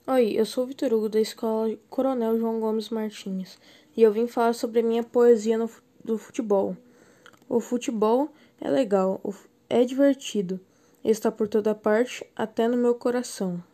Oi, eu sou o Vitor Hugo da Escola Coronel João Gomes Martins e eu vim falar sobre a minha poesia do futebol. O futebol é legal, é divertido, está por toda parte, até no meu coração.